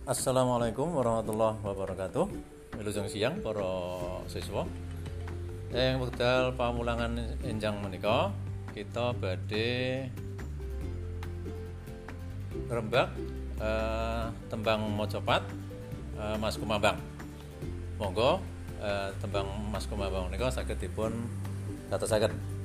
Assalamualaikum warahmatullahi wabarakatuh. Wilujeng siang para siswa. Ing wekdal pamulangan enjang menika kita badhe ngrembak tembang macapat Mas Kumambang. Monggo tembang Mas Kumambang menika saged dipun gatosaken.